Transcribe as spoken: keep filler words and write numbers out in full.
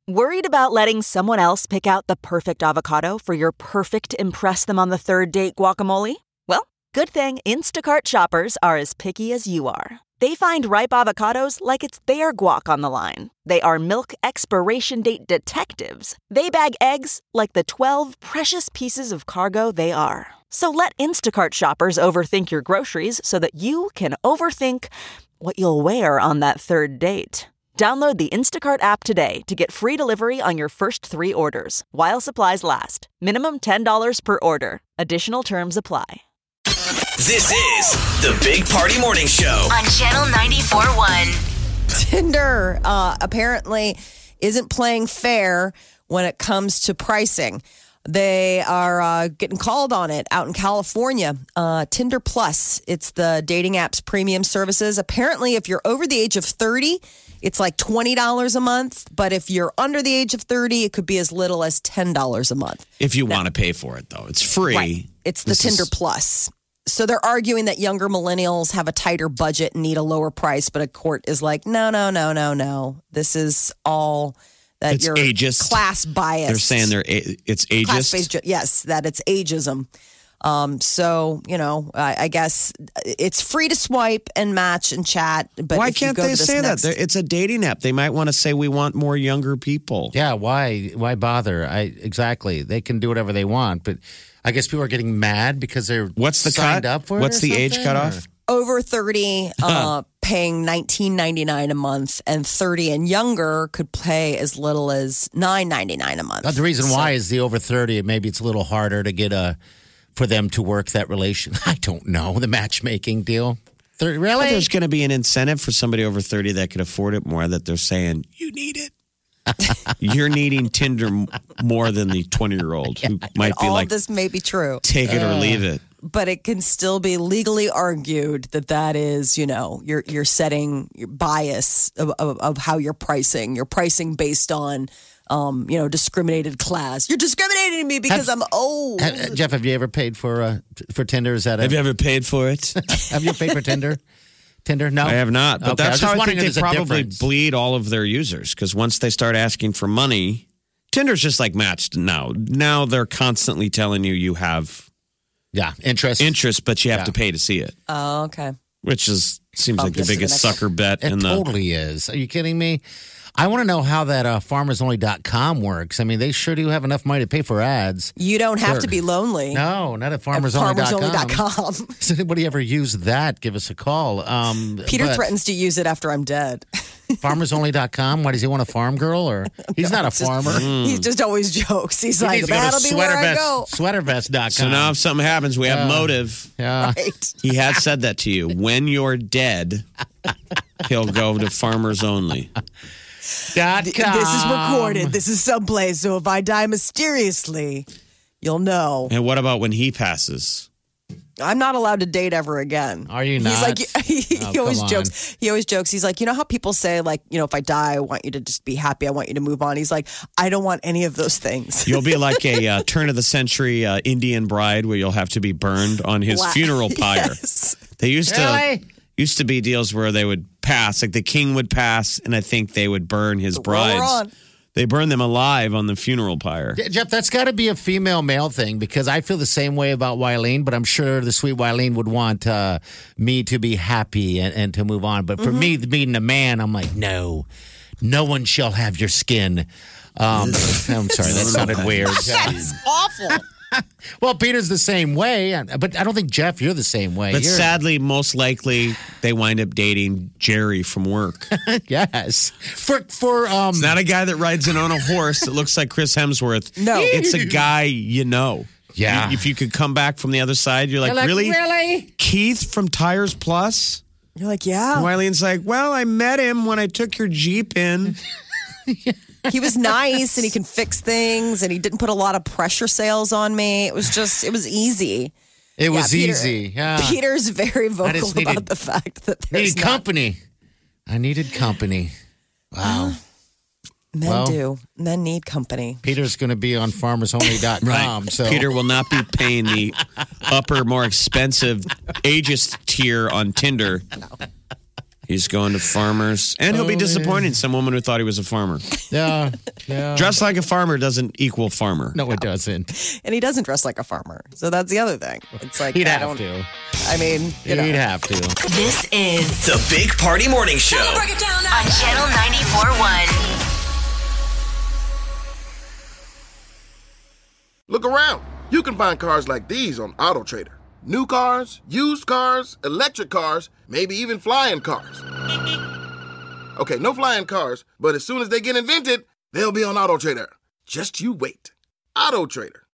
Worried about letting someone else pick out the perfect avocado for your perfect impress them on the third date guacamole? Well, good thing Instacart shoppers are as picky as you are. They find ripe avocados like it's their guac on the line. They are milk expiration date detectives. They bag eggs like the twelve precious pieces of cargo they are. So let Instacart shoppers overthink your groceries so that you can overthink what you'll wear on that third date. Download the Instacart app today to get free delivery on your first three orders, while supplies last. Minimum ten dollars per order. Additional terms apply. This is the Big Party Morning Show on Channel ninety-four point one. Tinder uh, apparently isn't playing fair when it comes to pricing. They are uh, getting called on it out in California. Uh, Tinder Plus, it's the dating app's premium services. Apparently, if you're over the age of thirty, it's like twenty dollars a month. But if you're under the age of thirty, it could be as little as ten dollars a month. If you want to pay for it, though. It's free. Right. It's the This Tinder is- Plus. So they're arguing that younger millennials have a tighter budget and need a lower price. But a court is like, no, no, no, no, no. This is all that It's you're ageist. class biased. They're saying they're a- it's ageist. Class-based, ju- yes, that it's ageism. Um, so, you know, I, I guess it's free to swipe and match and chat. But Why if you can't go they to this say next- that? They're- It's a dating app. They might want to say we want more younger people. Yeah, why? Why bother? I exactly. They can do whatever they want, but I guess people are getting mad because they're What's the signed cut? up for it. What's or the age something, cutoff? or- Over thirty, uh, paying nineteen ninety-nine a month, and thirty and younger could pay as little as nine ninety-nine a month. Uh, the reason So- why is the over thirty. Maybe it's a little harder to get a for them to work that relation. I don't know the matchmaking deal. thirty, But really? there's going to be an incentive for somebody over thirty that could afford it more, that they're saying, you need it. You're needing Tinder m- more than the twenty-year-old who might be all like, of this may be true, take it or leave it. but it can still be legally argued that that is, you know, you're you're setting your bias of, of, of how you're pricing. You're pricing based on, um, you know, discriminated class. You're discriminating me because Have- I'm old. Uh, Jeff, have you ever paid for uh, t- for Tinder? Is that a, Have you ever paid for it? have you paid for Tinder? Tinder? No, I have not. But Okay, I that's was just how I wondering think if they there's a probably difference. bleed all of their users. Because once they start asking for money, Tinder's just like matched now. Now they're constantly telling you you have Yeah, interest. interest, but you have Yeah. to pay to see it, Oh, okay. which is seems Bump like the this to the biggest next sucker bet It in the. totally is. Are you kidding me? I want to know how that uh, farmers only dot com works. I mean, they sure do have enough money to pay for ads. You don't have Sure. to be lonely. No, not at At farmers only dot com. farmers only dot com. Does anybody ever use that? Give us a call. Um, Peter but threatens to use it after I'm dead. farmers only dot com. Why does he want a farm girl? Or he's not a it's just- farmer. He just always jokes. He's He like, needs to go to that'll be where I sweater go. vest, sweater vest dot com. So now, if something happens, we have Yeah. motive. yeah. Right. He has said that to you. When you're dead, he'll go to farmers only. Dot Th- com. This is recorded. This is someplace. So if I die mysteriously, you'll know. And what about when he passes? I'm not allowed to date ever again. Are you He's not? like, he, he Oh, always come on. jokes. He always jokes. He's like, you know how people say, like, you know, if I die, I want you to just be happy. I want you to move on. He's like, I don't want any of those things. You'll be like a uh, turn of the century uh, Indian bride where you'll have to be burned on his Wow. funeral pyre. Yes. They used to Really? used to be deals where they would pass, like the king would pass, and I think they would burn his Roll her brides. on. They burn them alive on the funeral pyre. Yeah, Jeff, that's got to be a female male thing because I feel the same way about Wileen, but I'm sure the sweet Wileen would want uh, me to be happy and, and to move on. But for me, being a man, I'm like, no, no one shall have your skin. Um, I'm sorry, that sounded weird. That's awful. Well, Peter's the same way, but I don't think, Jeff, you're the same way. But You're- sadly, most likely they wind up dating Jerry from work. yes. For, for, um, It's not a guy that rides in on a horse that looks like Chris Hemsworth. No. It's a guy you know. Yeah. You- If you could come back from the other side, you're like, You're like, really? really? Keith from Tires Plus? You're like, yeah. And Wileen's like, well, I met him when I took your Jeep in. He was nice and he can fix things and he didn't put a lot of pressure sales on me. It was just, it was easy. It was Peter- easy. Yeah. Peter's very vocal just about needed- the fact that there's needed not- company. I needed company. Wow. Men Well- do. Men need company. Peter's going to be on farmers only dot com. So Peter will not be paying the upper, more expensive ageist tier on Tinder. He's going to farmers, and he'll be Oh, disappointing some woman who thought he was a farmer. Yeah, yeah. Dressed like a farmer doesn't equal farmer. No, it doesn't. And he doesn't dress like a farmer. So that's the other thing. It's like, He'd I have don't, to. I mean, you know. He'd have to. This is The Big Party Morning Show. on Channel ninety-four point one. Look around. You can find cars like these on AutoTrader. New cars, used cars, electric cars, maybe even flying cars. Okay, no flying cars, but as soon as they get invented, they'll be on AutoTrader. Just you wait. AutoTrader.